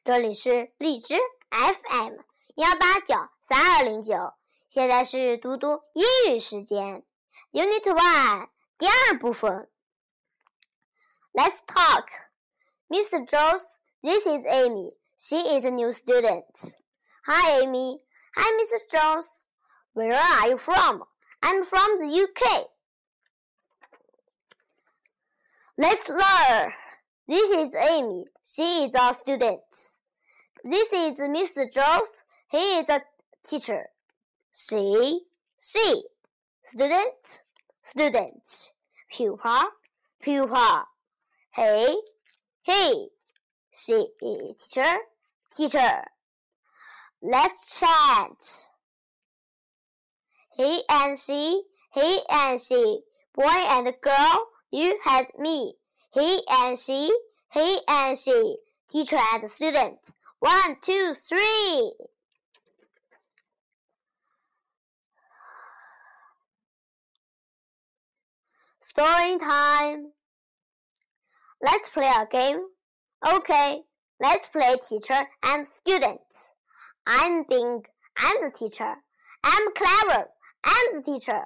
这里是荔枝 FM1893209，现在是嘟嘟英语时间 Unit 1第二部分。Let's talk. Mr. Jones, this is Amy. She is a new student. Hi, Amy. Hi, Mrs. Jones. Where are you from? I'm from the UK. Let's learn. This is Amy. She is a student. This is Mr. Jones. He is a teacher. She. Student. Pupil. He. She. Teacher. Let's chant. He and she. Boy and girl, you had me. He and she. Teacher and student. 1, 2, 3. Story time. Let's play a game. Okay, let's play teacher and student. I'm Bing. I'm the teacher. I'm Clever. I'm the teacher.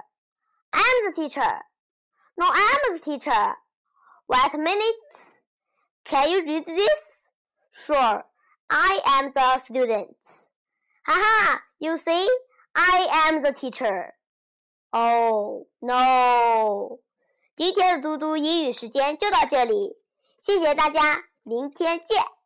No, I'm the teacher. Wait a minute. Can you read this? Sure. I am the student. Haha, you see? I am the teacher. Oh, no. 今天的嘟嘟英语时间就到这里，谢谢大家，明天见。